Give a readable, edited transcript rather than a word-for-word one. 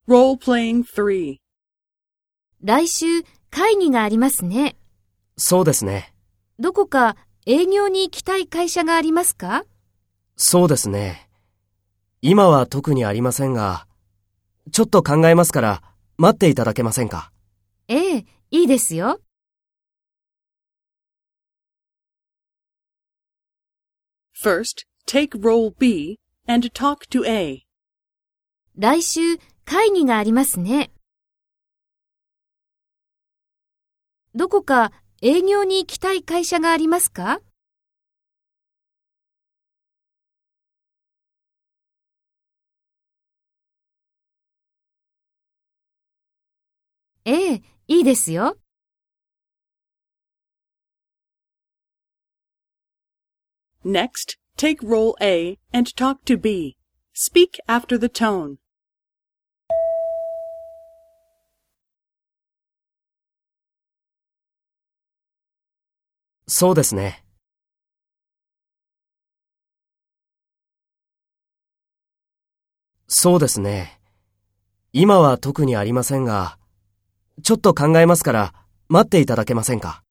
Role-playing 3. 来週会議がありますね。 そうですね。 どこか営業に行きたい会社がありますか？ そうですね。今は特にありませんが、ちょっと考えますから待っていただけませんか？ ええ、いいですよ。 First, take role B and talk to A. 来週会議がありますね。どこか営業に行きたい会社がありますか？ええ、いいですよ。 Next, take role A and talk to B. Speak after the tone. そうですね。そうですね。今は特にありませんが、ちょっと考えますから待っていただけませんか？